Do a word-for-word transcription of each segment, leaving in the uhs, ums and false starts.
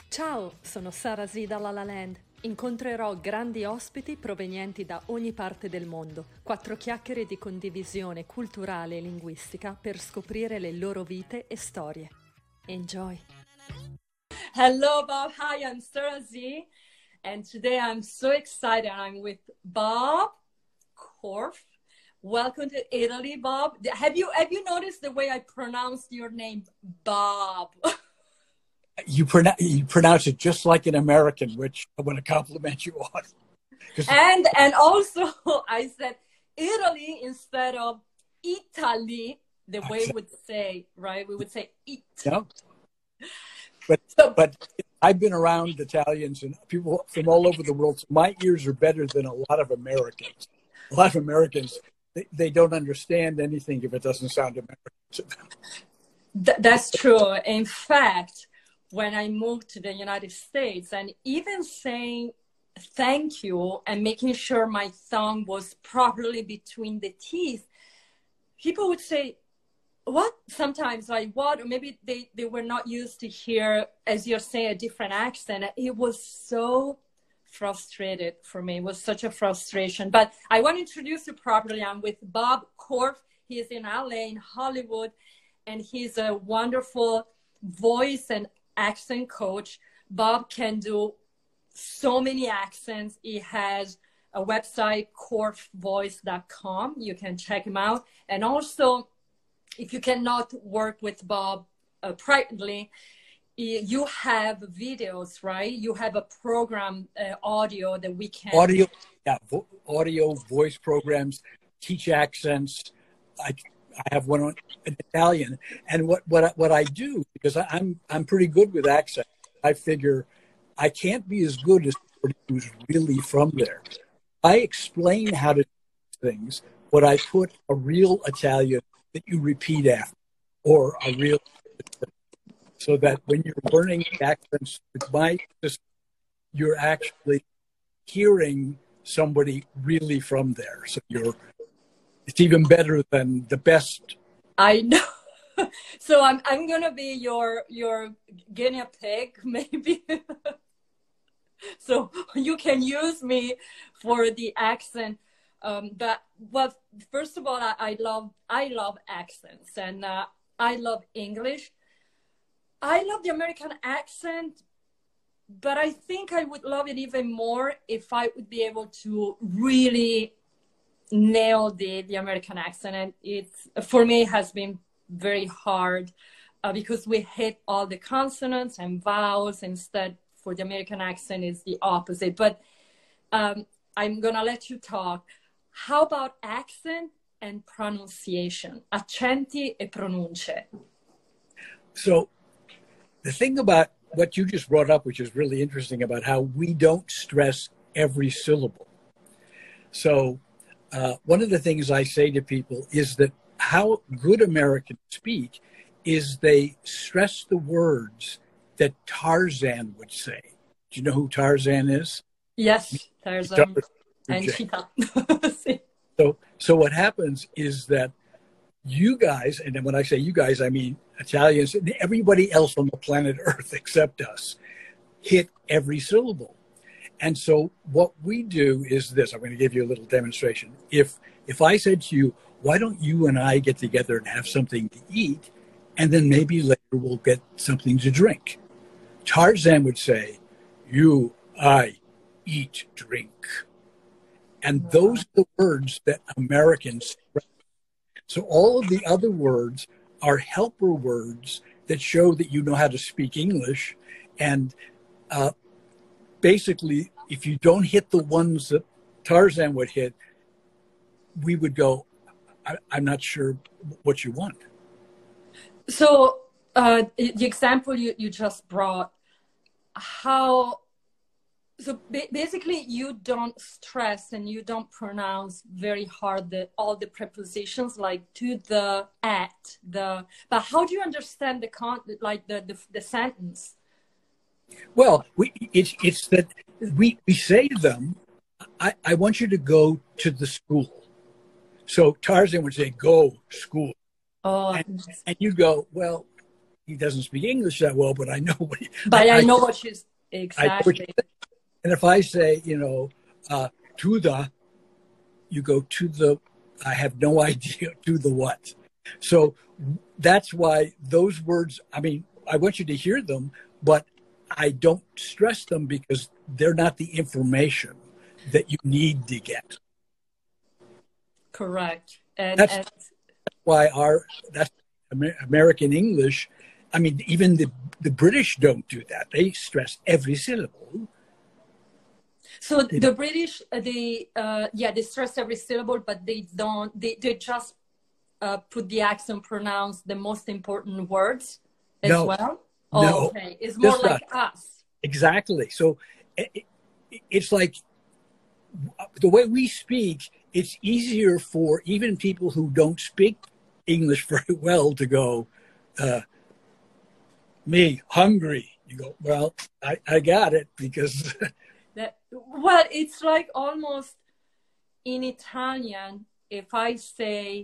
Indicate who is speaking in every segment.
Speaker 1: Ciao, sono Sara Z da La La Land. Incontrerò grandi ospiti provenienti da ogni parte del mondo. Quattro chiacchiere di condivisione culturale e linguistica per scoprire le loro vite e storie. Enjoy! Hello, Bob. Hi, I'm Sara Z. And today I'm so excited. I'm with Bob Korf. Welcome to Italy, Bob. Have you have you noticed the way I pronounced your name, Bob?
Speaker 2: You, pronounce you pronounce it just like an American, which I want to compliment you on.
Speaker 1: And and also I said Italy instead of Italy, the way we would say, right? We would say it.
Speaker 2: No. But so, but I've been around Italians and people from all over the world. So my ears are better than a lot of Americans. A lot of Americans, they, they don't understand anything if it doesn't sound American to them.
Speaker 1: Th that's true. In fact, when I moved to the United States, and even saying thank you and making sure my tongue was properly between the teeth, people would say, what? Sometimes like what? Or maybe they, they were not used to hear, as you're saying, a different accent. It was so frustrated for me. It was such a frustration. But I want to introduce you properly. I'm with Bob Korf. He is in L A, in Hollywood, and he's a wonderful voice and accent coach. Bob can do so many accents. He has a website, korf voice dot com. You can check him out. And also, if you cannot work with Bob uh, privately, you have videos, right? You have a program, uh, audio that we can...
Speaker 2: Audio, yeah, vo audio, voice programs, teach accents. I, I have one on in Italian. And what, what, what I do, because I, I'm, I'm pretty good with accents, I figure I can't be as good as somebody who's really from there. I explain how to do things, but I put a real Italian that you repeat after, or a real, so that when you're learning accents with my system, you're actually hearing somebody really from there. So you're, it's even better than the best.
Speaker 1: I know. So I'm I'm gonna be your your guinea pig, maybe. So you can use me for the accent. Um, but well, first of all, I, I love I love accents, and uh, I love English. I love the American accent, but I think I would love it even more if I would be able to really nail the the American accent. And it's, for me, it has been very hard uh, because we hit all the consonants and vowels. Instead, for the American accent, is the opposite. But um, I'm gonna let you talk. How about accent and pronunciation? Accenti e pronunce.
Speaker 2: So the thing about what you just brought up, which is really interesting, about how we don't stress every syllable. So uh, one of the things I say to people is that how good Americans speak is they stress the words that Tarzan would say. Do you know who Tarzan is?
Speaker 1: Yes, Tarzan. And Cheetah.
Speaker 2: so, so what happens is that you guys, and then when I say you guys, I mean Italians, and everybody else on the planet Earth except us, hit every syllable. And so what we do is this. I'm going to give you a little demonstration. If if I said to you, why don't you and I get together and have something to eat, and then maybe later we'll get something to drink? Tarzan would say, you, I, eat, drink. And those are the words that Americans express. So all of the other words are helper words that show that you know how to speak English. And uh, basically, if you don't hit the ones that Tarzan would hit, we would go, I, I'm not sure what you want.
Speaker 1: So uh, the example you, you just brought, how... So basically, you don't stress and you don't pronounce very hard the, all the prepositions, like to, the, at, the. But how do you understand the con, like the, the the sentence?
Speaker 2: Well, we, it's it's that we we say to them, I, I want you to go to the school. So Tarzan would say, "Go school,"
Speaker 1: Oh,
Speaker 2: and, and you go, well, he doesn't speak English that well, but I know what he,
Speaker 1: But I, I know
Speaker 2: I,
Speaker 1: what she's exactly.
Speaker 2: What you, and if I say, you know, uh, to the, you go to the, I have no idea to the what. So that's why those words, I mean, I want you to hear them, but I don't stress them because they're not the information that you need to get.
Speaker 1: Correct. And
Speaker 2: that's
Speaker 1: and,
Speaker 2: why our, that's American English. I mean, even the, the British don't do that. They stress every syllable.
Speaker 1: So the know. British, they, uh, yeah, they stress every syllable, but they don't, they, they just uh, put the accent, pronounce the most important words as
Speaker 2: no,
Speaker 1: well?
Speaker 2: Oh, no,
Speaker 1: okay. It's more like
Speaker 2: not.
Speaker 1: us.
Speaker 2: Exactly. So it, it's like the way we speak, it's easier for even people who don't speak English very well to go, uh, me, hungry. You go, well, I, I got it because...
Speaker 1: that, well, it's like almost in Italian, if I say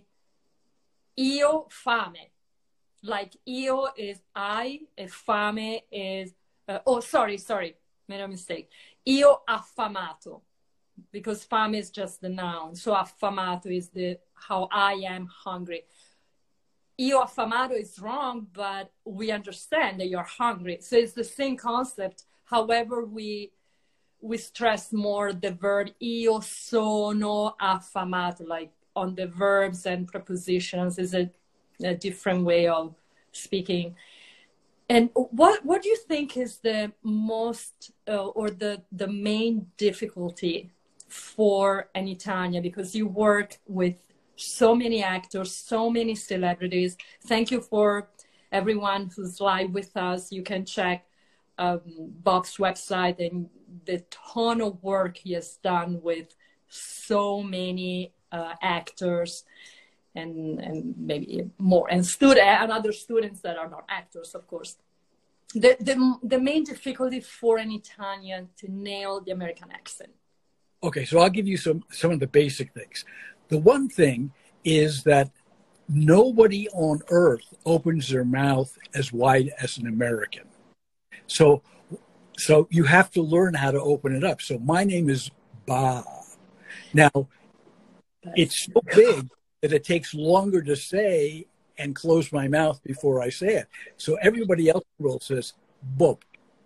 Speaker 1: io fame, like io is I, and fame is, uh, oh, sorry, sorry, made a mistake. Io affamato, because fame is just the noun. So affamato is the how I am hungry. Io affamato is wrong, but we understand that you're hungry. So it's the same concept. However, we we stress more the verb io sono affamato, like on the verbs and prepositions is a, a different way of speaking. And what what do you think is the most uh, or the the main difficulty for an Italian, because you work with so many actors, so many celebrities. Thank you for everyone who's live with us. You can check um, Bob's website and the ton of work he has done with so many uh, actors and, and maybe more, and, stud- and other students that are not actors, of course. The, the, the main difficulty for an Italian to nail the American accent.
Speaker 2: Okay, so I'll give you some, some of the basic things. The one thing is that nobody on earth opens their mouth as wide as an American. So, so you have to learn how to open it up. So my name is Bob. Now, it's so big that it takes longer to say and close my mouth before I say it. So everybody else in the world says Bob.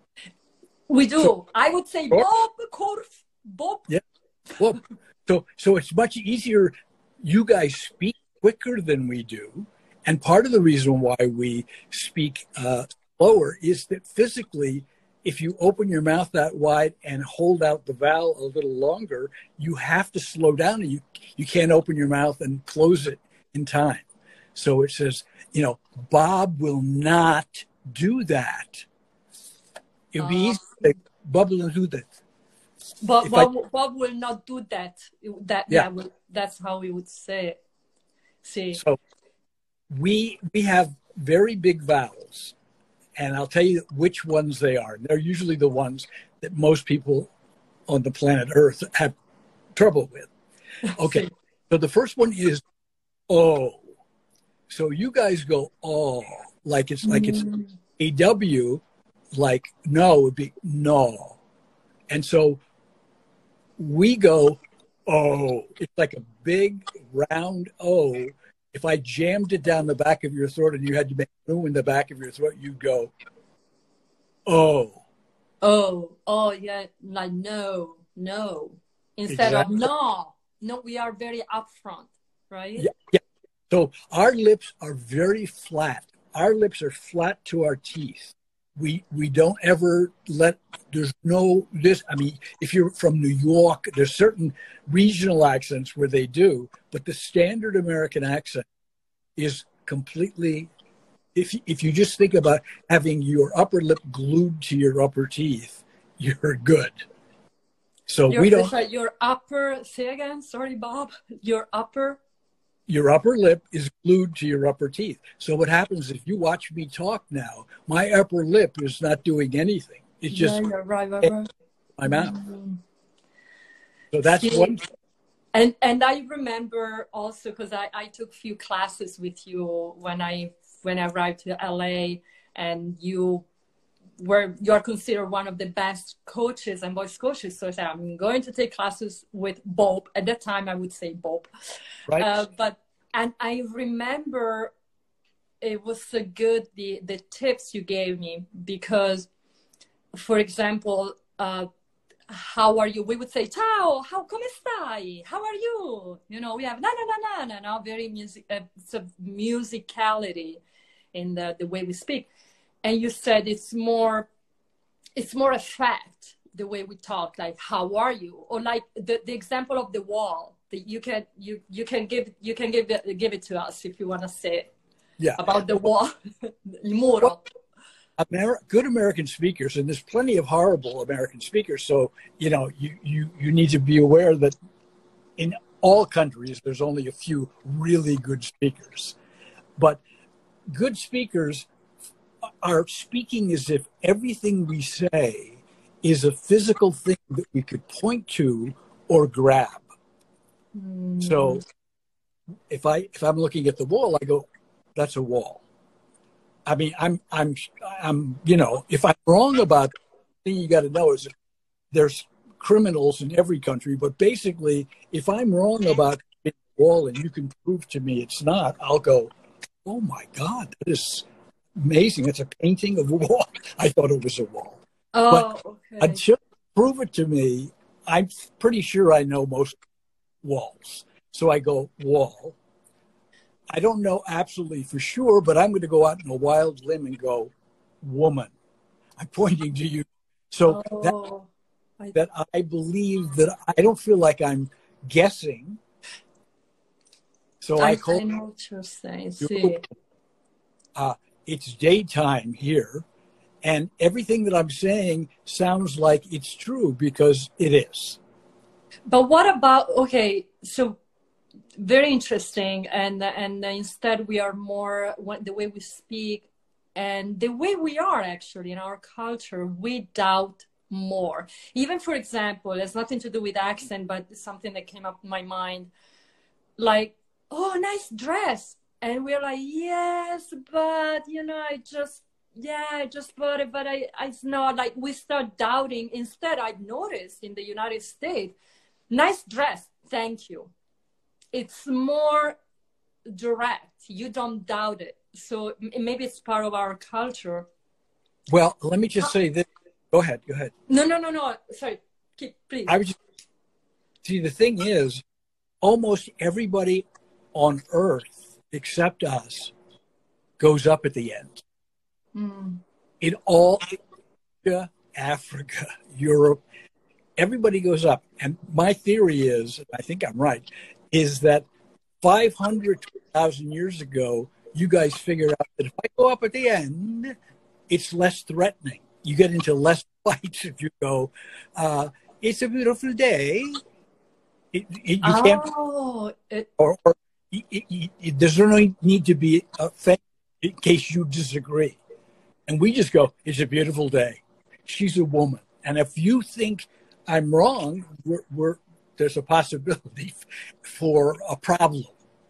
Speaker 1: We do. So, I would say Bob,
Speaker 2: Bob.
Speaker 1: Bob.
Speaker 2: Yeah, Bob. So, so it's much easier. You guys speak quicker than we do. And part of the reason why we speak uh, slower is that physically, if you open your mouth that wide and hold out the vowel a little longer, you have to slow down, and you, you can't open your mouth and close it in time. So it says, you know, Bob will not do that. It would be uh, easy to say, Bob will do that.
Speaker 1: But Bob, I, Bob will not do that. That yeah, yeah will, that's how we would say it. See.
Speaker 2: So we we have very big vowels, and I'll tell you which ones they are. They're usually the ones that most people on the planet Earth have trouble with. Okay, so the first one is O. So you guys go oh, like it's like it's a W, like no would be no, and so we go oh. It's like a big round O. If I jammed it down the back of your throat and you had to make room in the back of your throat, you'd go oh.
Speaker 1: Oh, oh yeah, like no, no. Instead exactly. of no, no, we are very upfront, right?
Speaker 2: Yeah, yeah. So our lips are very flat. Our lips are flat to our teeth. We we don't ever let, there's no, this, I mean, if you're from New York, there's certain regional accents where they do, but the standard American accent is completely, if, if you just think about having your upper lip glued to your upper teeth, you're good. So
Speaker 1: your,
Speaker 2: we don't.
Speaker 1: Sorry, your upper, say again, sorry, Bob, your upper.
Speaker 2: Your upper lip is glued to your upper teeth. So what happens if you watch me talk now, my upper lip is not doing anything. It's just
Speaker 1: yeah, right, right, right.
Speaker 2: my mouth. Mm-hmm. So that's See, one.
Speaker 1: And and I remember also because I, I took few classes with you when I when I arrived to L A, and you were you are considered one of the best coaches and voice coaches. So I said, I'm going to take classes with Bob. At that time, I would say Bob.
Speaker 2: Right.
Speaker 1: Uh, but and I remember it was so good the the tips you gave me, because, for example, uh, how are you? We would say, ciao, how come stai? How are you? You know, we have na na na na na na, very music, uh, sort of musicality in the, the way we speak. And you said it's more, it's more a fact, the way we talk, like, how are you? Or like the, the example of the wall that you can, you, you can give, you can give it, give it to us if you want to say it.
Speaker 2: Yeah.
Speaker 1: About the wall. Il muro.
Speaker 2: Well, Amer- good American speakers, and there's plenty of horrible American speakers. So, you know, you, you, you need to be aware that in all countries, there's only a few really good speakers. But good speakers are speaking as if everything we say is a physical thing that we could point to or grab. Mm. So if I, if I'm looking at the wall, I go, that's a wall. I mean, I'm, I'm, I'm, you know, if I'm wrong about it, the thing you got to know is that there's criminals in every country, but basically, if I'm wrong about the wall and you can prove to me it's not, I'll go, oh my God, that is amazing. It's a painting of a wall. I thought it was a wall.
Speaker 1: Oh,
Speaker 2: but
Speaker 1: okay.
Speaker 2: Until you prove it to me, I'm pretty sure I know most walls. So I go, wall. I don't know absolutely for sure, but I'm going to go out on a wild limb and go, woman. I'm pointing to you. So
Speaker 1: oh,
Speaker 2: that,
Speaker 1: I...
Speaker 2: that I believe that I don't feel like I'm guessing. So I,
Speaker 1: I
Speaker 2: call
Speaker 1: I know what you're saying. See.
Speaker 2: Uh, it's daytime here, and everything that I'm saying sounds like it's true because it is.
Speaker 1: But what about, okay, so very interesting, and and instead we are more the way we speak and the way we are actually in our culture, we doubt more. Even, for example, it has nothing to do with accent, but it's something that came up in my mind, like, oh, nice dress, and we're like, yes, but you know, I just yeah I just bought it, but I, I it's not, like, we start doubting. Instead, I've noticed in the United States, nice dress, thank you. It's more direct. You don't doubt it. So maybe it's part of our culture.
Speaker 2: Well, let me just say this. Go ahead. Go ahead.
Speaker 1: No, no, no, no. Sorry. Keep, please.
Speaker 2: I was just, see, the thing is, almost everybody on Earth except us goes up at the end. Mm. In all Asia, Africa, Europe, everybody goes up. And my theory is, I think I'm right, is that five hundred thousand years ago, you guys figured out that if I go up at the end, it's less threatening. You get into less fights if you go, uh, it's a beautiful day. It, it, you
Speaker 1: oh,
Speaker 2: can't,
Speaker 1: it,
Speaker 2: or, or it, it, it, there's no need to be offended in case you disagree. And we just go, it's a beautiful day. She's a woman. And if you think I'm wrong, we're, we're there's a possibility for a problem.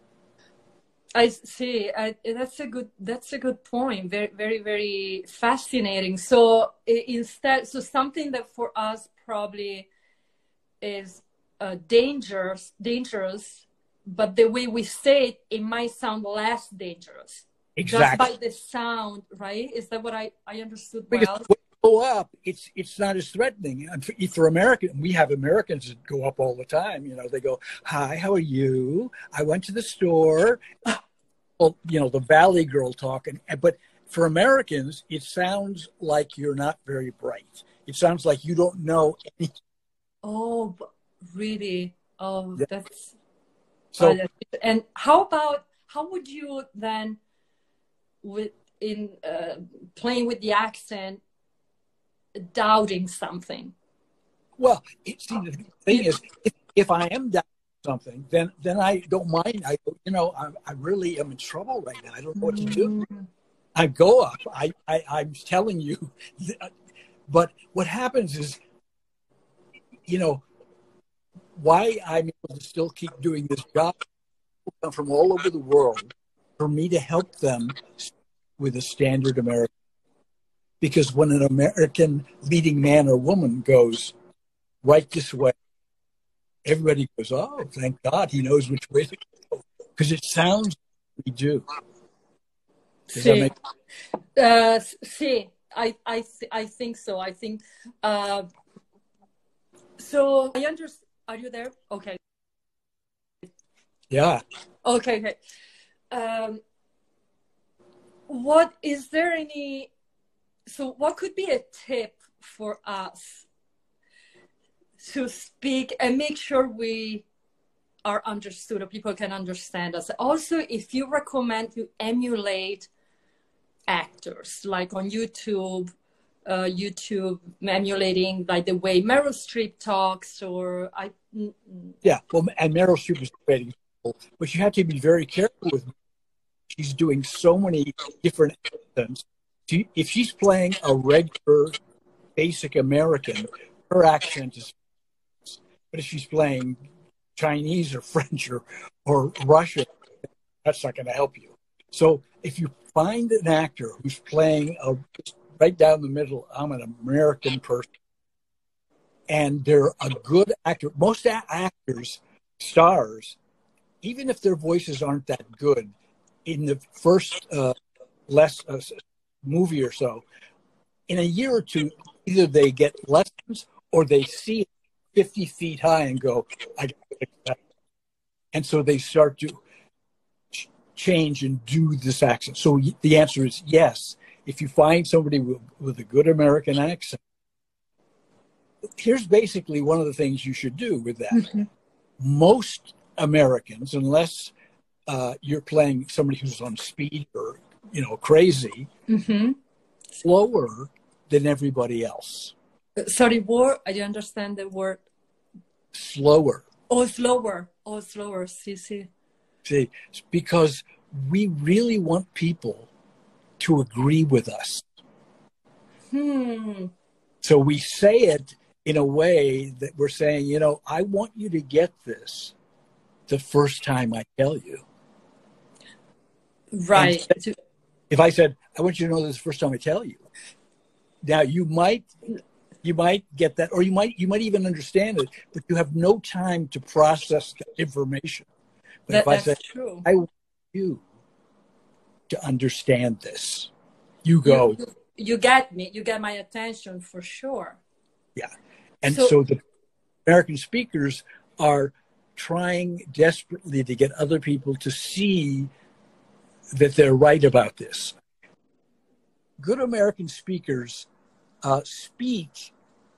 Speaker 1: I see. I, that's a good. That's a good point. Very, very, very fascinating. So instead, so something that for us probably is uh, dangerous, dangerous, but the way we say it, it might sound less dangerous.
Speaker 2: Exactly.
Speaker 1: Just by the sound, right? Is that what I I understood
Speaker 2: because
Speaker 1: well?
Speaker 2: Go up, it's it's not as threatening. And for, for American, we have Americans that go up all the time. You know, they go, "Hi, how are you? I went to the store." Well, you know, the Valley Girl talking. But for Americans, it sounds like you're not very bright. It sounds like you don't know anything.
Speaker 1: Oh, really? Oh,
Speaker 2: yeah.
Speaker 1: that's
Speaker 2: so.
Speaker 1: Oh, that's, and how about how would you then, with in uh, playing with the accent, doubting something?
Speaker 2: Well, it, see, the thing is, if, if I am doubting something, then then I don't mind. I you know, I, I really am in trouble right now. I don't know what to do. Mm. I go up. I, I I'm telling you, but what happens is, you know, why I'm able to still keep doing this job. People come from all over the world for me to help them with a standard American. because when an American leading man or woman goes right this way, everybody goes, oh, thank God he knows which way to go. Because it sounds like we do. Does that
Speaker 1: Sí,
Speaker 2: make
Speaker 1: uh, sí, I, I, th- I think so. I think, uh, so I understand. Are you there? Okay.
Speaker 2: Yeah.
Speaker 1: Okay, okay. Um, what is there any, so what could be a tip for us to speak and make sure we are understood or people can understand us? Also, if you recommend you emulate actors like on YouTube, uh, YouTube emulating like the way Meryl Streep talks, or I.
Speaker 2: Yeah, well, and Meryl Streep is great, but you have to be very careful with her. She's doing so many different accents. She, if she's playing a regular, basic American, her accent is. But if she's playing Chinese or French or, or Russian, that's not going to help you. So if you find an actor who's playing a, right down the middle, I'm an American person, and they're a good actor. Most a- actors, stars, even if their voices aren't that good, in the first uh, less uh, movie or so, in a year or two, either they get lessons or they see it fifty feet high and go, I got to fix that. And so they start to ch- change and do this accent. So y- the answer is yes. If you find somebody with, with a good American accent, here's basically one of the things you should do with that.
Speaker 1: Mm-hmm.
Speaker 2: Most Americans, unless uh, you're playing somebody who's on speed or, you know, crazy,
Speaker 1: Mm-hmm.
Speaker 2: slower than everybody else.
Speaker 1: Sorry, word. I didn't understand the word.
Speaker 2: Slower.
Speaker 1: Oh, slower. Oh, slower. See, see.
Speaker 2: See, because we really want people to agree with us.
Speaker 1: Hmm.
Speaker 2: So we say it in a way that we're saying, you know, I want you to get this the first time I tell you.
Speaker 1: Right.
Speaker 2: And if I said, I want you to know this the first time I tell you, now you might you might get that, or you might you might even understand it, but you have no time to process the information. But
Speaker 1: That,
Speaker 2: if I
Speaker 1: that's
Speaker 2: say,
Speaker 1: true.
Speaker 2: I want you to understand this, you go,
Speaker 1: You, you get me. You get my attention for sure.
Speaker 2: yeah. And
Speaker 1: So,
Speaker 2: so the American speakers are trying desperately to get other people to see that they're right about this. Good American speakers uh, speak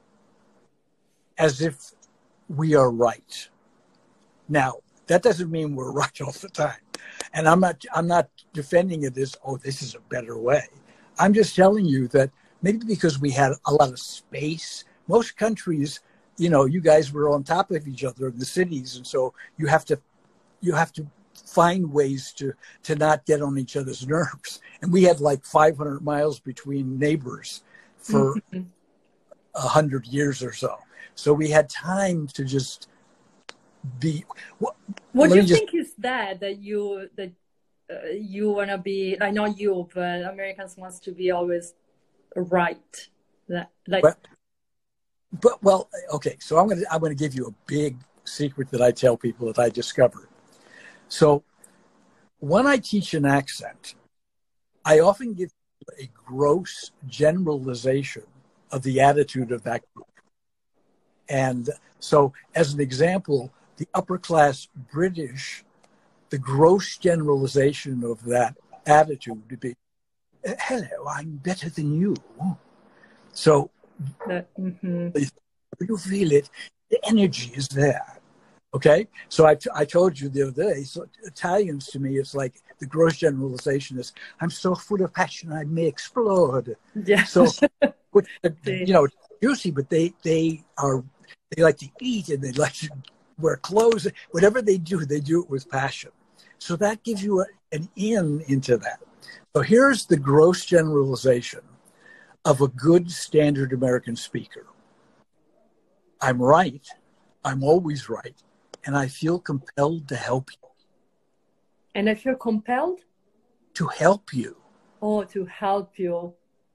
Speaker 2: as if we are right. Now, that doesn't mean we're right all the time. And I'm not I'm not defending it as, oh, this is a better way. I'm just telling you that maybe because we had a lot of space, most countries, you know, you guys were on top of each other in the cities, and so you have to you have to find ways to to not get on each other's nerves. And we had like five hundred miles between neighbors for a mm-hmm. hundred years or so. So we had time to just be. Well,
Speaker 1: what do you
Speaker 2: just,
Speaker 1: think is that that you that uh, you wanna be? Like not you, but Americans wants to be always right. That like.
Speaker 2: But, but well, okay. So I'm gonna I'm gonna give you a big secret that I tell people that I discovered. So when I teach an accent, I often give a gross generalization of the attitude of that group. And so, as an example, the upper class British, the gross generalization of that attitude would be, hello, I'm better than you. So,
Speaker 1: That, mm-hmm.
Speaker 2: you feel it, the energy is there. Okay? So I, t- I told you the other day, so Italians to me, it's like the gross generalization is, I'm so full of passion, I may explode.
Speaker 1: Yeah.
Speaker 2: So, which, you know, juicy, but they, they are, they like to eat and they like to wear clothes. Whatever they do, they do it with passion. So that gives you a, an in into that. So here's the gross generalization of a good standard American speaker. I'm right. I'm always right. And I feel compelled to help you.
Speaker 1: And I feel compelled?
Speaker 2: To help you.
Speaker 1: Oh, to help you.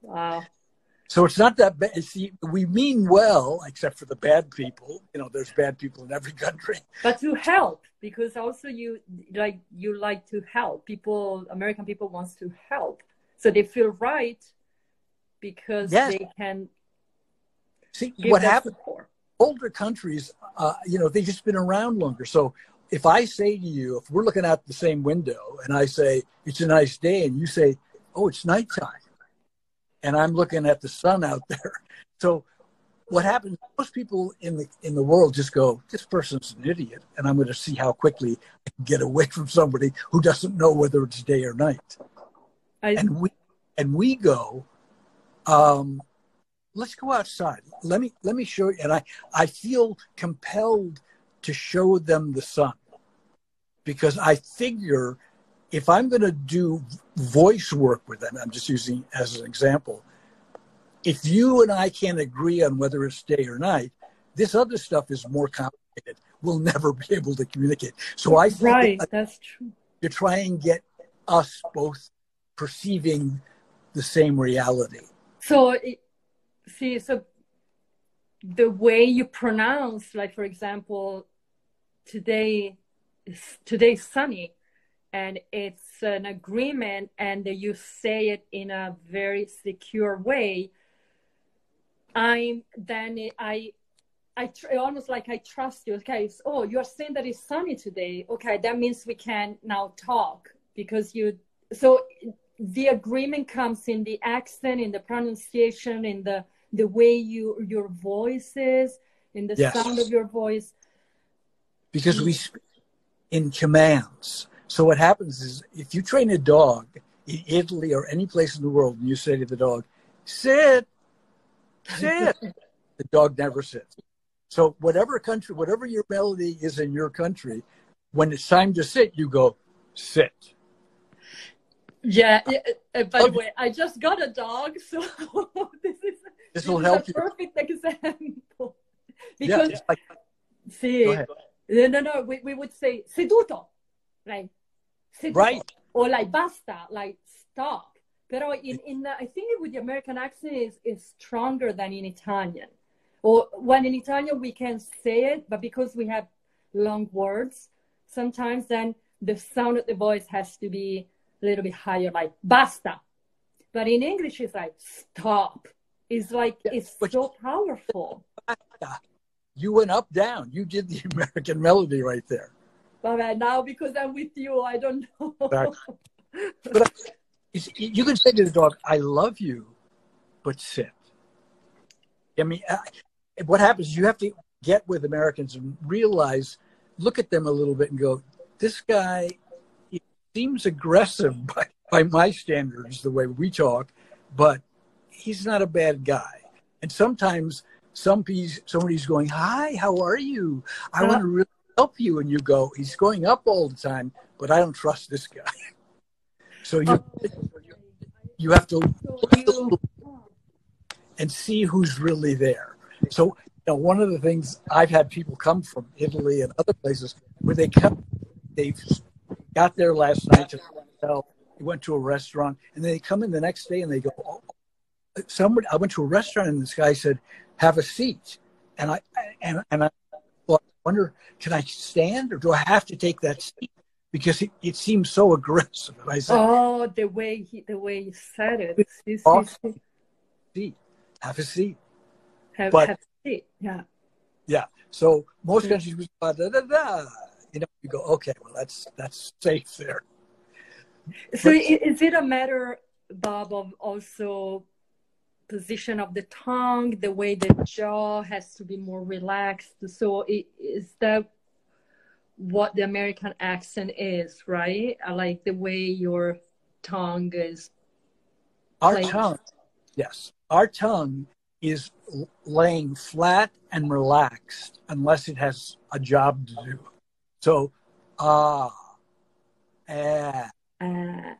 Speaker 1: Wow.
Speaker 2: So it's not that bad. See, we mean well, except for the bad people. You know, there's bad people in every country.
Speaker 1: But to help, because also you like you like to help people. American people wants to help, so they feel right because
Speaker 2: yes.
Speaker 1: they can.
Speaker 2: See
Speaker 1: give
Speaker 2: what
Speaker 1: that
Speaker 2: happens.
Speaker 1: Support.
Speaker 2: Older countries, uh, you know, they've just been around longer. So if I say to you, if we're looking out the same window, and I say it's a nice day, and you say, "Oh, it's nighttime," and I'm looking at the sun out there. So what happens, most people in the in the world just go, this person's an idiot, and I'm going to see how quickly I can get away from somebody who doesn't know whether it's day or night. I, and we and we go, um, let's go outside. Let me let me show you. And I, I feel compelled to show them the sun, because I figure if I'm going to do voice work with them, I'm just using as an example, if you and I can't agree on whether it's day or night, this other stuff is more complicated. We'll never be able to communicate. So I think
Speaker 1: right,
Speaker 2: that
Speaker 1: that's true.
Speaker 2: To try and get us both perceiving the same reality.
Speaker 1: So, it, see, so the way you pronounce, like for example, today is today's sunny, and it's an agreement, and you say it in a very secure way. I'm then I, I tr- almost like I trust you. Okay, so, oh, you're saying that it's sunny today. Okay, that means we can now talk because you. So the agreement comes in the accent, in the pronunciation, in the the way you your voice is, in the
Speaker 2: yes.
Speaker 1: sound of your voice.
Speaker 2: Because we speak in commands. So what happens is, if you train a dog in Italy or any place in the world, and you say to the dog, "Sit." Sit. The dog never sits. So whatever country, whatever your melody is in your country, when it's time to sit, you go, sit.
Speaker 1: Yeah. Uh, by the way, I just got a dog, so this is
Speaker 2: this will help
Speaker 1: a perfect you. example.
Speaker 2: Because
Speaker 1: yeah,
Speaker 2: like,
Speaker 1: see, no, no, no. We, we would say seduto, like seduto,
Speaker 2: right,
Speaker 1: or like basta, like stop. Pero in, in the, I think with the American accent is, is stronger than in Italian. Or when in Italian we can say it, but because we have long words, sometimes then the sound of the voice has to be a little bit higher, like basta. But in English it's like stop. It's like, yeah, it's so powerful.
Speaker 2: You went up, down. You did the American melody right there.
Speaker 1: But now because I'm with you, I don't know.
Speaker 2: But I, you can say to the dog, "I love you, but sit." I mean, what happens, you have to get with Americans and realize, look at them a little bit and go, this guy he seems aggressive by, by my standards, the way we talk, but he's not a bad guy. And sometimes somebody's, somebody's going, "Hi, how are you? I uh, want to really help you." And you go, "He's going up all the time, but I don't trust this guy." So you, you have to look and see who's really there. So, you know, one of the things, I've had people come from Italy and other places where they come, they've got there last night to hotel, they went to a restaurant, and they come in the next day and they go, "Oh, somebody, I went to a restaurant and this guy said, 'Have a seat.'" And I, and, and I well, I wonder, can I stand or do I have to take that seat? Because it, it seems so aggressive. And I said,
Speaker 1: "Oh, the way he, the way he said it. See,
Speaker 2: see, see. Have a seat.
Speaker 1: Have,
Speaker 2: but,
Speaker 1: have a seat. Yeah.
Speaker 2: Yeah. So most countries, we da, da, da, you know, you go, okay, well, that's that's safe there."
Speaker 1: So but, is it a matter, Bob, of also position of the tongue, the way the jaw has to be more relaxed? So it, is that what the American accent is, right? I like the way your tongue is
Speaker 2: our played. tongue yes our tongue is laying flat and relaxed unless it has a job to do. So ah ah uh,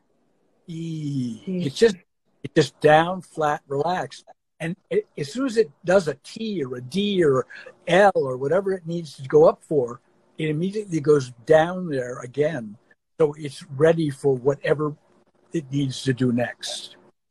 Speaker 2: e it's just it's just down, flat, relaxed. And it, as soon as it does a T or a D or L or whatever it needs to go up for, it immediately goes down there again. So it's ready for whatever it needs to do next.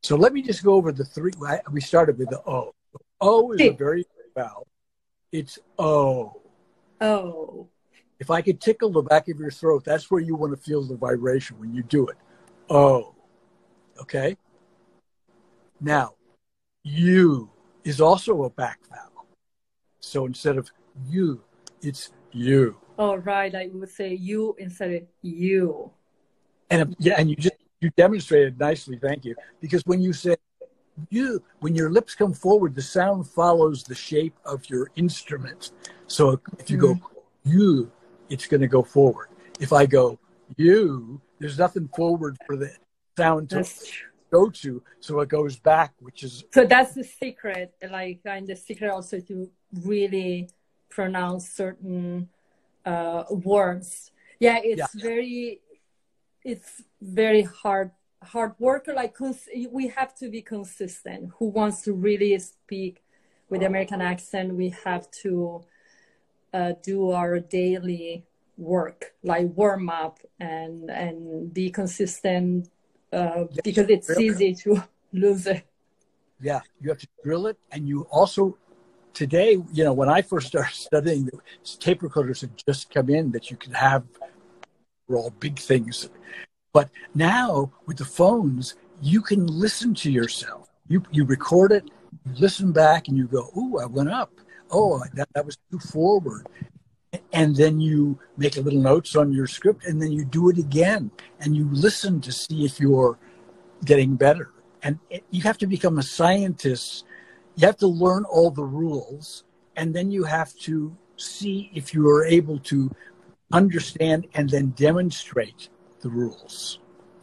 Speaker 2: So let me just go over the three. We started with the O. O is a very vowel. It's O.
Speaker 1: Oh.
Speaker 2: If I could tickle the back of your throat, that's where you want to feel the vibration when you do it. O. Okay? Now, U is also a back vowel. So instead of you, it's you.
Speaker 1: Oh, right. I would say you instead of you.
Speaker 2: And yeah, and you just you demonstrated nicely, thank you. Because when you say you, when your lips come forward, the sound follows the shape of your instrument. So if you mm. go you, it's going to go forward. If I go you, there's nothing forward for the sound to go to, so it goes back, which is
Speaker 1: so that's the secret, like, and the secret also to really pronounce certain uh, words. Yeah, it's yeah. very, it's very hard, hard work. Like cons- we have to be consistent. Who wants to really speak with the American accent? We have to uh, do our daily work, like warm up and and be consistent. Uh, yes, because it's really easy to lose it.
Speaker 2: Yeah, you have to drill it. And you also, today, you know, when I first started studying, the tape recorders had just come in that you could have for all big things. But now with the phones, you can listen to yourself. You you record it, you listen back, and you go, "Ooh, I went up. Oh, that, that was too forward." And then you make a little notes on your script, and then you do it again, and you listen to see if you're getting better. And it, you have to become a scientist. You have to learn all the rules, and then you have to see if you are able to understand and then demonstrate the rules.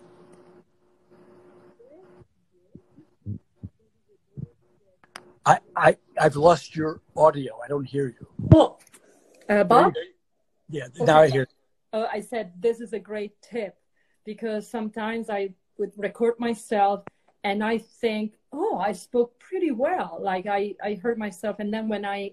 Speaker 2: I, I, I've lost your audio. I don't hear you.
Speaker 1: Oh. Uh, Bob?
Speaker 2: Yeah, now okay. I hear.
Speaker 1: Uh, I said this is a great tip because sometimes I would record myself and I think, oh, I spoke pretty well. Like I, I heard myself. And then when I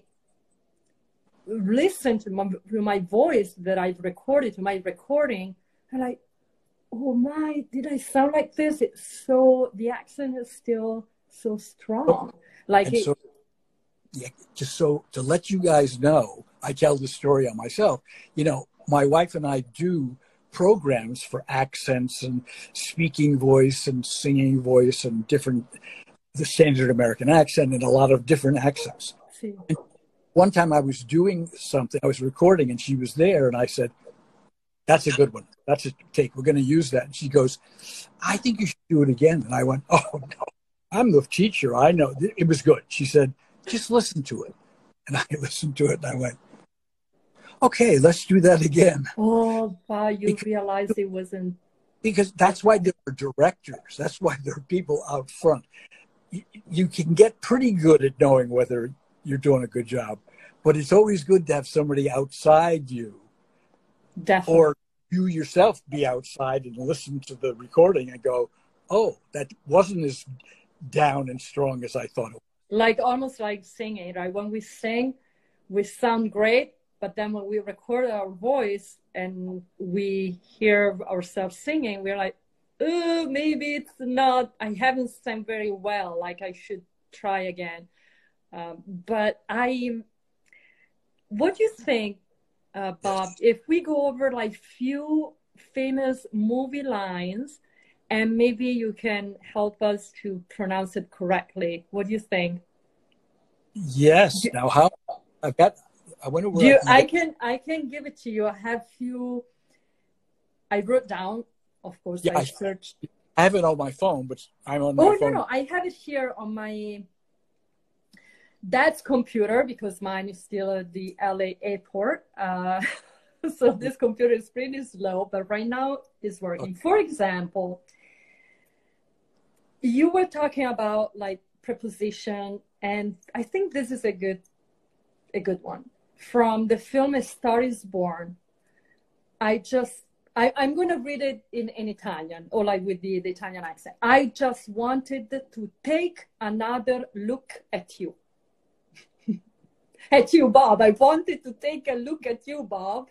Speaker 1: listen to my, to my voice that I've recorded, to my recording, I'm like, oh my, did I sound like this? It's so, the accent is still so strong. Like it,
Speaker 2: so, yeah, just so to let you guys know, I tell the story on myself. You know, my wife and I do programs for accents and speaking voice and singing voice and different, the standard American accent and a lot of different accents.
Speaker 1: Sí.
Speaker 2: And one time I was doing something, I was recording and she was there and I said, that's a good one. That's a take. We're going to use that. And she goes, I think you should do it again. And I went, oh, no, I'm the teacher. I know. It was good. She said, just listen to it. And I listened to it and I went, okay, let's do that again.
Speaker 1: Oh, wow, you because, realized it wasn't.
Speaker 2: Because that's why there are directors. That's why there are people out front. You, you can get pretty good at knowing whether you're doing a good job, but it's always good to have somebody outside you.
Speaker 1: Definitely.
Speaker 2: Or you yourself be outside and listen to the recording and go, oh, that wasn't as down and strong as I thought it was.
Speaker 1: Like almost like singing, right? When we sing, we sound great, but then when we record our voice and we hear ourselves singing, we're like, oh, maybe it's not, I haven't sung very well, like I should try again. Um, but I, what do you think, uh, Bob, if we go over like few famous movie lines and maybe you can help us to pronounce it correctly. What do you think?
Speaker 2: Yes. Do, now, how I've got. I wonder where
Speaker 1: you,
Speaker 2: I,
Speaker 1: I can. I can give it to you. I have few. I wrote down. Of course,
Speaker 2: yeah,
Speaker 1: I,
Speaker 2: I
Speaker 1: searched.
Speaker 2: I have it on my phone, but I'm on my
Speaker 1: oh,
Speaker 2: phone.
Speaker 1: no, no! I have it here on my dad's computer because mine is still at the L A airport. Uh, so this computer is pretty slow, but right now it's working. Okay. For example. You were talking about like preposition, and I think this is a good, a good one from the film A Star Is Born. I just, I, I'm going to read it in, in Italian or like with the, the Italian accent. I just wanted to take another look at you. At you, Bob. I wanted to take a look at you, Bob.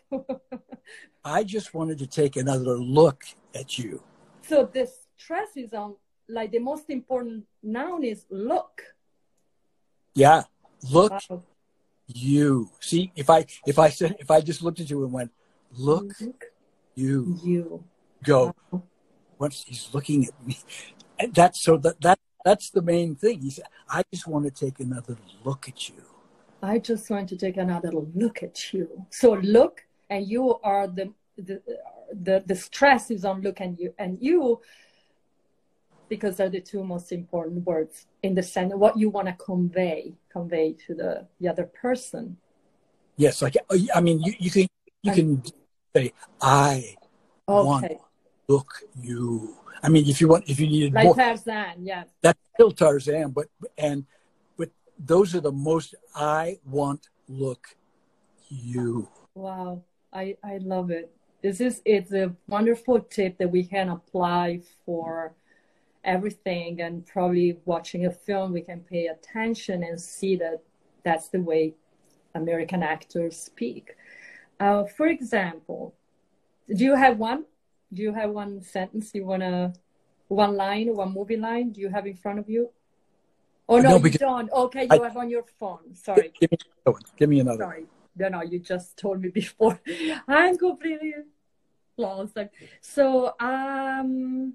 Speaker 2: I just wanted to take another look at you.
Speaker 1: So the stress is on like the most important noun is look.
Speaker 2: Yeah. Look
Speaker 1: Wow.
Speaker 2: you. See, if I if I said if I just looked at you and went, look,
Speaker 1: Look
Speaker 2: you,
Speaker 1: you.
Speaker 2: go.
Speaker 1: Wow.
Speaker 2: Once he's looking at me. And that's so that that that's the main thing. He said, I just want to take another look at you.
Speaker 1: I just want to take another look at you. So look, and you are the the the, the stress is on look and you and you, because they're the two most important words in the sense of what you want to convey convey to the, the other person.
Speaker 2: Yes, like I mean, you, you can you
Speaker 1: And,
Speaker 2: can say I want
Speaker 1: okay,
Speaker 2: look you. I mean, if you want, if you needed
Speaker 1: like
Speaker 2: more,
Speaker 1: Tarzan, yeah.
Speaker 2: that's still Tarzan. But and but those are the most I want look you.
Speaker 1: Wow, I I love it. This is it's a wonderful tip that we can apply for everything, and probably watching a film we can pay attention and see that that's the way American actors speak. Uh, for example, do you have one? Do you have one sentence you wanna, one line, one movie line? Do you have in front of you? Oh no,
Speaker 2: No,
Speaker 1: you
Speaker 2: because
Speaker 1: don't. Okay,
Speaker 2: I,
Speaker 1: you have on your phone. Sorry.
Speaker 2: give me another one. Give me another.
Speaker 1: Sorry. No, no, you just told me before. I'm completely lost. So, um,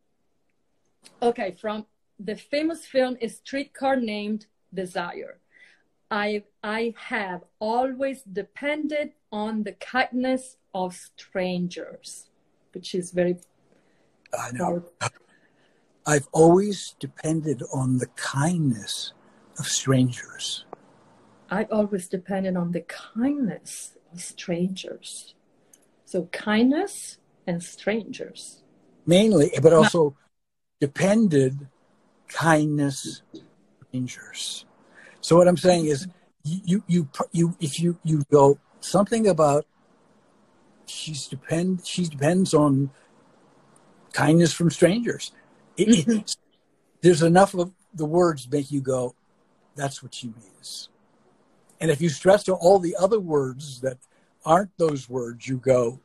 Speaker 1: okay, from the famous film is Streetcar Named Desire. I I have always depended on the kindness of strangers, which is very
Speaker 2: I know. I've always depended on the kindness of strangers.
Speaker 1: I've always depended on the kindness of strangers. So kindness and strangers.
Speaker 2: Mainly, but also depended kindness strangers. So what I'm saying is, you you you if you you go something about she's depend she depends on kindness from strangers. It,
Speaker 1: Mm-hmm.
Speaker 2: it, there's enough of the words make you go, that's what she means. And if you stress to all the other words that aren't those words, you go,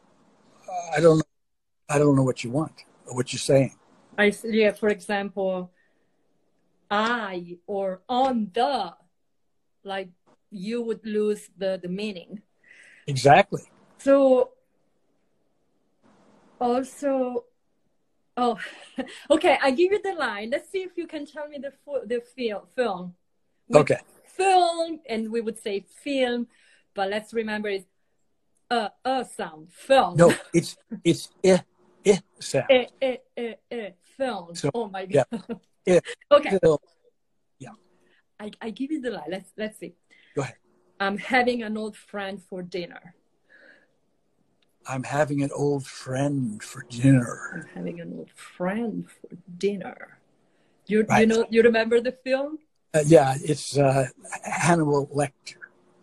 Speaker 2: I don't know, I don't know what you want or what you're saying.
Speaker 1: I yeah, for example, I or on the, like you would lose the, the meaning.
Speaker 2: Exactly.
Speaker 1: So also, oh, okay, I give you the line. Let's see if you can tell me the the fil- film. With
Speaker 2: Okay.
Speaker 1: Film, and we would say film, but let's remember it's a a sound. Film.
Speaker 2: No, it's it's eh eh sound.
Speaker 1: Eh, eh, eh, eh, film.
Speaker 2: So,
Speaker 1: Oh my
Speaker 2: yeah.
Speaker 1: god.
Speaker 2: Eh,
Speaker 1: Okay.
Speaker 2: film. Yeah.
Speaker 1: I, I give you the line. Let's let's see.
Speaker 2: Go ahead.
Speaker 1: I'm having an old friend for dinner.
Speaker 2: I'm having an old friend for dinner.
Speaker 1: I'm having an old friend for dinner. You
Speaker 2: Right.
Speaker 1: you know you remember the film?
Speaker 2: Uh, yeah, it's uh, Hannibal Lecter.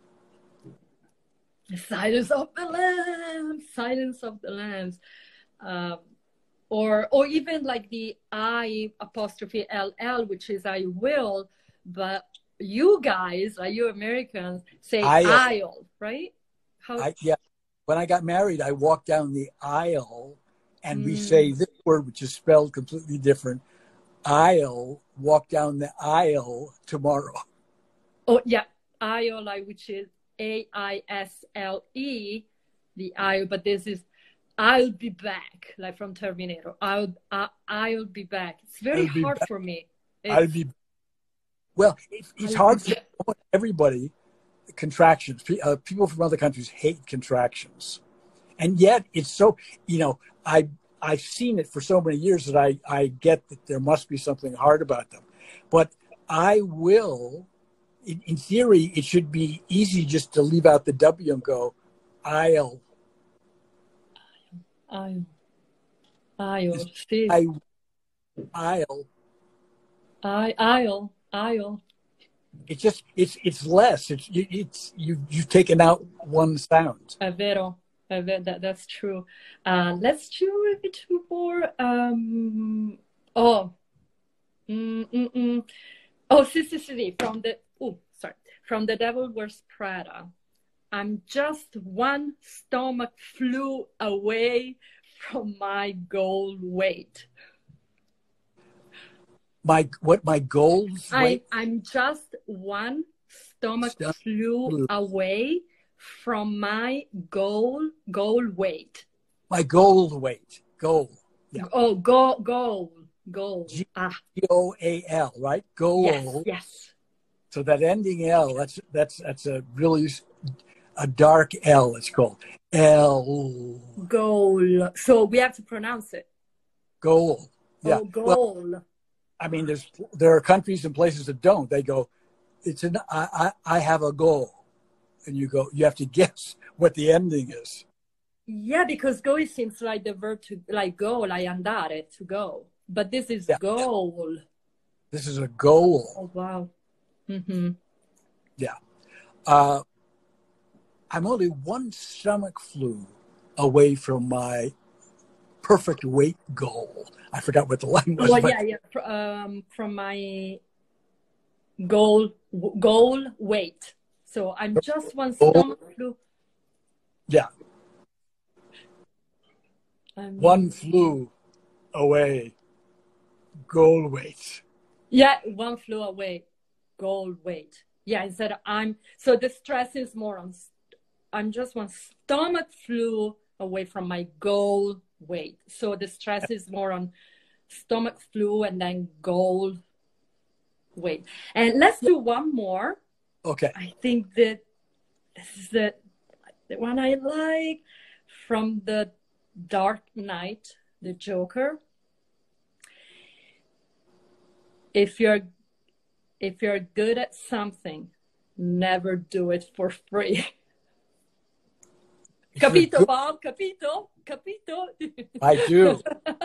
Speaker 1: Silence of the Lambs. Silence of the Lambs. Um, or or even like the I apostrophe L L, which is I will, but you guys, like you Americans, say
Speaker 2: I'll.
Speaker 1: I'll, right? How?
Speaker 2: I, yeah. When I got married, I walked down the aisle, and
Speaker 1: Mm.
Speaker 2: we say this word, which is spelled completely different. I'll walk down the aisle tomorrow.
Speaker 1: Oh yeah, I'll, like, which is A I S L E, the I, but this is I'll be back, like from Terminator. I'll I, I'll be back. It's very
Speaker 2: I'll be
Speaker 1: hard
Speaker 2: back.
Speaker 1: for me.
Speaker 2: I'll
Speaker 1: It's,
Speaker 2: be Well, it's, it's
Speaker 1: I'll
Speaker 2: hard
Speaker 1: be
Speaker 2: for everybody. Contractions. Pe- Uh, people from other countries hate contractions, and yet it's so. You know, I I've seen it for so many years that I I get that there must be something hard about them, but I will. In, in theory, it should be easy just to leave out the W and go, I'll.
Speaker 1: I'll I'll see.
Speaker 2: I. I'll.
Speaker 1: I I'll I'll.
Speaker 2: It's just it's it's less. It's it's you you've taken out one sound.
Speaker 1: È vero. È vero. That, that's true. Uh, let's do a bit more. Um, oh. Mm, mm, mm. Oh, sì, sì, sì, sì. From the, oh, sorry. From The Devil Wears Prada. I'm just one stomach flew away from my goal weight.
Speaker 2: My what my goals?
Speaker 1: I
Speaker 2: Wait,
Speaker 1: I'm just one stomach
Speaker 2: stomach
Speaker 1: flu
Speaker 2: flu.
Speaker 1: away from my goal goal weight.
Speaker 2: My goal weight. Goal. Yeah.
Speaker 1: Oh, goal goal goal.
Speaker 2: G
Speaker 1: Ah,
Speaker 2: O A L. Right.
Speaker 1: yes,
Speaker 2: Goal.
Speaker 1: yes.
Speaker 2: So that ending L. That's that's that's a really a dark L. It's called L.
Speaker 1: Goal. So we have to pronounce it.
Speaker 2: Goal. Yeah.
Speaker 1: Oh,
Speaker 2: Well,
Speaker 1: goal.
Speaker 2: I mean, there's there are countries and places that don't. They go, it's an I I, I have a goal, and you go. You have to guess what the ending is.
Speaker 1: Yeah, because go seems like the verb to like go, like andare, to go. But this is
Speaker 2: Yeah.
Speaker 1: goal.
Speaker 2: This is a goal.
Speaker 1: Oh wow. Mm-hmm.
Speaker 2: Yeah. Uh, I'm only one stomach flu away from my perfect weight goal. I forgot what the line was.
Speaker 1: Well,
Speaker 2: but
Speaker 1: yeah, yeah. Um, from my goal goal weight. So I'm just one
Speaker 2: goal,
Speaker 1: stomach flu.
Speaker 2: yeah,
Speaker 1: Um,
Speaker 2: one flew away goal weight.
Speaker 1: yeah, one flew away. Goal weight. Yeah, instead of I'm. So the stress is more on. I'm just one stomach flu away from my goal weight. So the stress is more on stomach flu and then goal weight. And let's do one more.
Speaker 2: Okay.
Speaker 1: I think that this is the, the one I like from the Dark Knight, the Joker. If you're if you're good at something, never do it for free. Capito,
Speaker 2: Good,
Speaker 1: Bob? Capito? Capito?
Speaker 2: I do.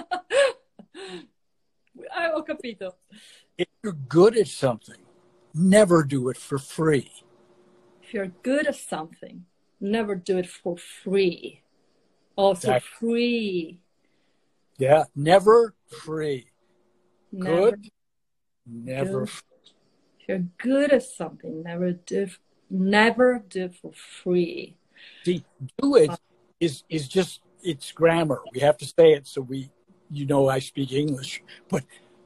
Speaker 1: I ho capito.
Speaker 2: If you're good at something, never do it for free.
Speaker 1: If you're good at something, never do it for free. Also
Speaker 2: Exactly.
Speaker 1: free.
Speaker 2: Yeah, never free.
Speaker 1: Never
Speaker 2: Good, never
Speaker 1: good.
Speaker 2: free.
Speaker 1: If you're good at something, never do never do it for free.
Speaker 2: See, do it is is just it's grammar. We have to say it so we you know I speak English, but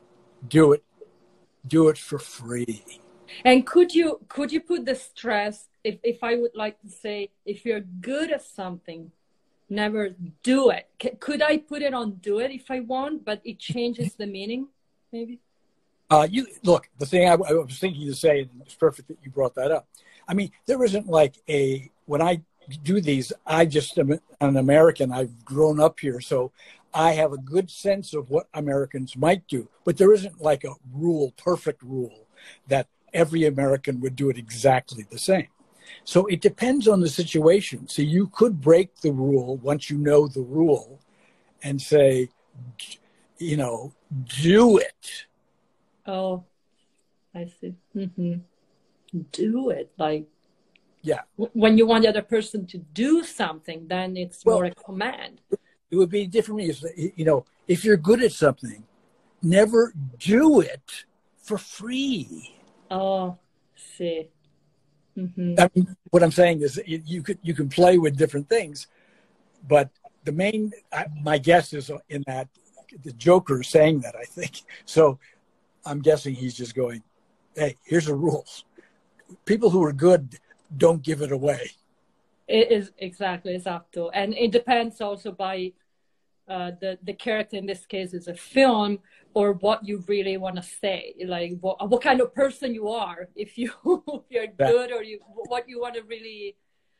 Speaker 2: do it do it for free.
Speaker 1: And could you could you put the stress if, if I would like to say if you're good at something, never do it. C- could I put it on do it if I want, but it changes the meaning, maybe?
Speaker 2: Uh, you look, the thing I, I was thinking to say, and it's perfect that you brought that up. I mean, there isn't like a when I do these, I just am an American. I've grown up here, so I have a good sense of what Americans might do. But there isn't like a rule, perfect rule, that every American would do it exactly the same. So it depends on the situation. So you could break the rule once you know the rule and say, you know, do it.
Speaker 1: Oh, I see. Mm-hmm. Do it. Like,
Speaker 2: yeah.
Speaker 1: w- when you want the other person to do something, then it's
Speaker 2: well,
Speaker 1: more a command.
Speaker 2: It would be different. You know, if you're good at something, never do it for free.
Speaker 1: Oh, see. Mm-hmm.
Speaker 2: I mean, what I'm saying is you could you can play with different things, but the main I, my guess is in that the Joker is saying that, I think. So I'm guessing he's just going, hey, here's the rules. People who are good don't give it away.
Speaker 1: It is exactly esatto, and it depends also by uh, the the character. In this case, is a film or what you really want to say, like what what kind of person you are. If you if you're good, or you what you want to really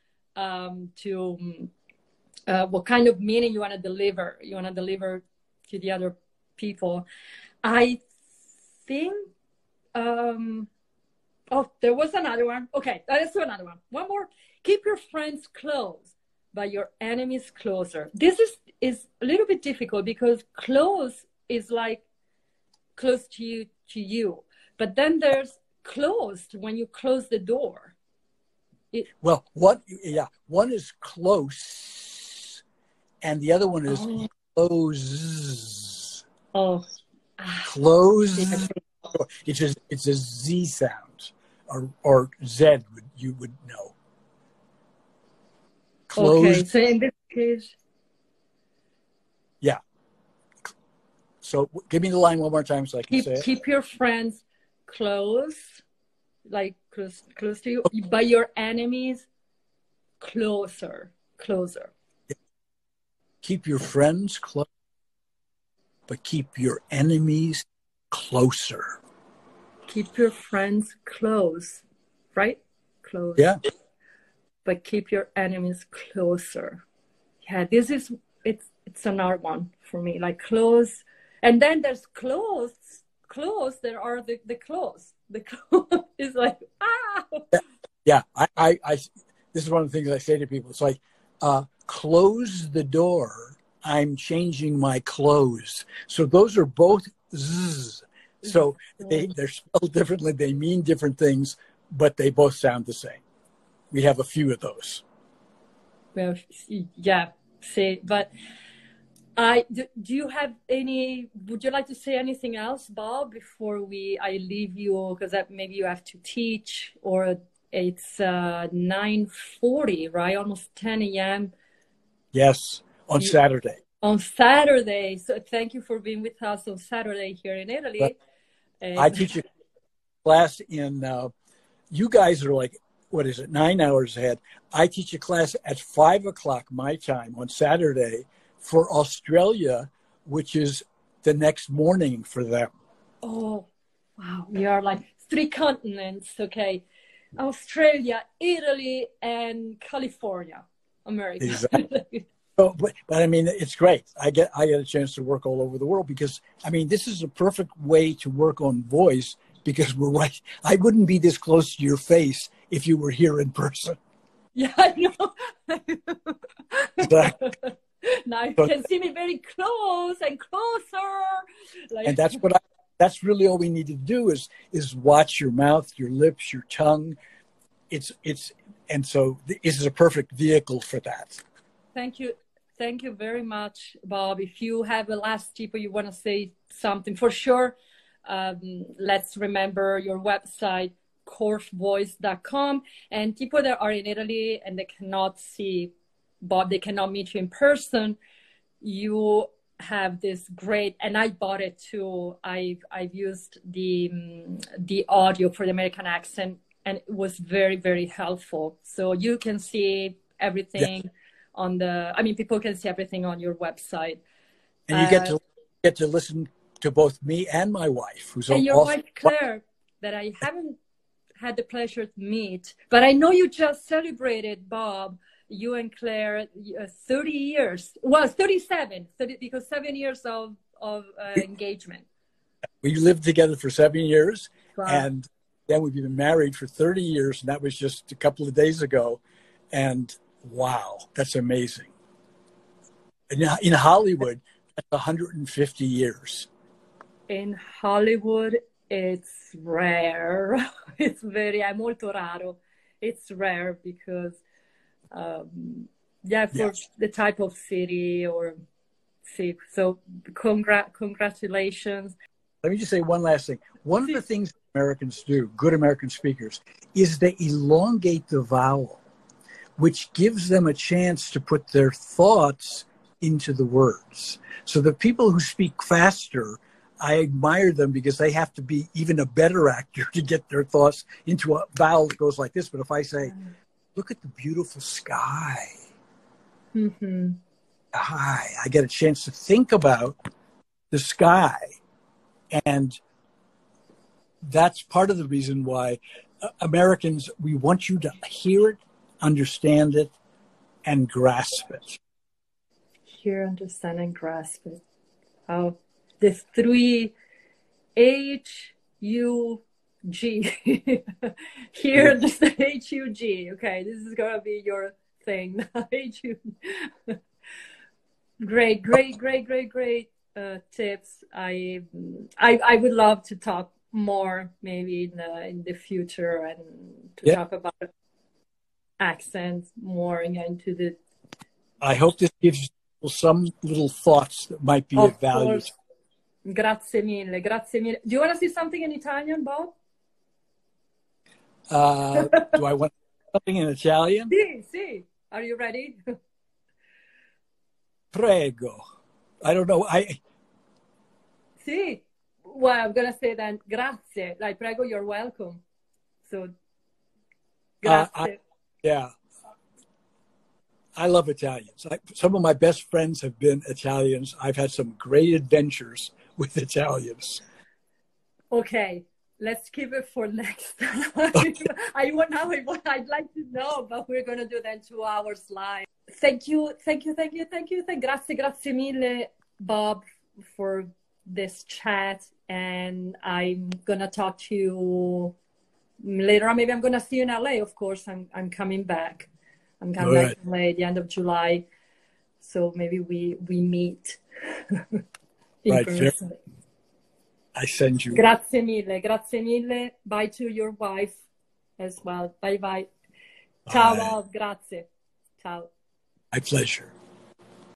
Speaker 1: um, to uh, what kind of meaning you want to deliver. You want to deliver to the other people. I think. Um, oh, there was another one. Okay, let's do another one. One more. Keep your friends close, but your enemies closer. This is, is a little bit difficult because close is like close to you, to you. But then there's closed when you close the door. It,
Speaker 2: well, what? Yeah, one is close, and the other one is
Speaker 1: oh.
Speaker 2: close.
Speaker 1: Oh,
Speaker 2: close. It's just it's a Z sound, or or Z would you would know. Close.
Speaker 1: Okay, so in this case,
Speaker 2: yeah. So give me the line one more time so I can
Speaker 1: Keep,
Speaker 2: say it.
Speaker 1: keep your friends close, like close, close to you, but your enemies closer, closer.
Speaker 2: Keep your friends close, but keep your enemies closer.
Speaker 1: Keep your friends close, right? Close.
Speaker 2: Yeah.
Speaker 1: But keep your enemies closer. Yeah, this is, it's it's another one for me, like close. And then there's close, close, there are the, the close. The close is like, ah!
Speaker 2: Yeah, I, I, I, this is one of the things I say to people. It's like, uh, close the door, I'm changing my clothes. So those are both zzz. So they, they're spelled differently, they mean different things, but they both sound the same. We have a few of those.
Speaker 1: Well, yeah, see, but I do, do you have any, would you like to say anything else, Bob, before we, I leave you, because maybe you have to teach, or it's uh, nine forty, right? Almost ten a.m.
Speaker 2: Yes, on
Speaker 1: you,
Speaker 2: Saturday.
Speaker 1: On Saturday. So thank you for being with us on Saturday here in Italy. And
Speaker 2: I teach a class in, uh, you guys are like, what is it, nine hours ahead. I teach a class at five o'clock my time on Saturday for Australia, which is the next morning for them.
Speaker 1: Oh, wow. We are like three continents, okay? Australia, Italy, and California, America.
Speaker 2: Exactly. So, but, but I mean, it's great. I get I get a chance to work all over the world because, I mean, this is a perfect way to work on voice because we're right. I wouldn't be this close to your face if you were here in person.
Speaker 1: Yeah, I know.
Speaker 2: Exactly.
Speaker 1: Now you
Speaker 2: So,
Speaker 1: can see me very close and closer. Like,
Speaker 2: and that's what I, that's really all we need to do is is watch your mouth, your lips, your tongue. It's it's and so this is a perfect vehicle for that.
Speaker 1: Thank you. Thank you very much, Bob. If you have a last tip or you want to say something, for sure, um, let's remember your website, corf voice dot com. And people that are in Italy and they cannot see Bob, they cannot meet you in person, you have this great, and I bought it too. I've, I've used the, um, the audio for the American accent, and it was very, very helpful. So you can see everything. Yeah. On the, I mean, people can see everything on your website.
Speaker 2: And you uh, get to get to listen to both me and my wife, who's
Speaker 1: and your
Speaker 2: also,
Speaker 1: wife Claire, that I haven't had the pleasure to meet, but I know you just celebrated, Bob, you and Claire, uh, thirty years. Well, thirty-seven, thirty, because seven years of of uh, engagement.
Speaker 2: We lived together for seven years,
Speaker 1: wow.
Speaker 2: And then we've been married for thirty years, and that was just a couple of days ago, and. Wow, that's amazing. In, in Hollywood, that's one hundred fifty years.
Speaker 1: In Hollywood, it's rare. It's very, è molto raro. It's rare because, um, yeah, for yes. the type of city or see. So, congr- congratulations.
Speaker 2: Let me just say one last thing. One of the things Americans do, good American speakers, is they elongate the vowel, which gives them a chance to put their thoughts into the words. So the people who speak faster, I admire them because they have to be even a better actor to get their thoughts into a vowel that goes like this. But if I say, look at the beautiful sky,
Speaker 1: mm-hmm.
Speaker 2: I, I get a chance to think about the sky. And that's part of the reason why uh, Americans, we want you to hear it, understand it, and grasp it.
Speaker 1: Hear, understand, and grasp it. Oh, the three H U G. Hear, yeah. Understand, H U G. Okay, this is going to be your thing. H U Great, great, great, great, great uh, tips. I, I I would love to talk more maybe in the, in the future and to yeah. talk about accents more into the.
Speaker 2: I hope this gives you some little thoughts that might be of, of value.
Speaker 1: Course. Grazie mille, grazie mille. Do you want to say something in Italian, Bob?
Speaker 2: Uh, do I want something in Italian?
Speaker 1: Sì, sì. Are you ready?
Speaker 2: Prego. I don't know. I
Speaker 1: Sì. Well, I'm going to say then, grazie. Like, prego, you're welcome. So, grazie.
Speaker 2: Uh, I, yeah. I love Italians. I, some of my best friends have been Italians. I've had some great adventures with Italians.
Speaker 1: Okay, let's keep it for next time. Okay. I want now. I'd like to know, but we're going to do that in two hours live. Thank you, thank you, thank you, thank you. Thank, grazie, grazie mille, Bob, for this chat. And I'm going to talk to you later on. Maybe I'm going to see you in L A, of course. I'm, I'm coming back. I'm coming
Speaker 2: All
Speaker 1: back in L A at the end of July. So maybe we, we meet in
Speaker 2: right,
Speaker 1: person.
Speaker 2: I send you.
Speaker 1: Grazie mille, grazie mille. Bye to your wife as well. Bye bye. Ciao,
Speaker 2: Bye.
Speaker 1: Bob. Grazie. Ciao.
Speaker 2: My pleasure.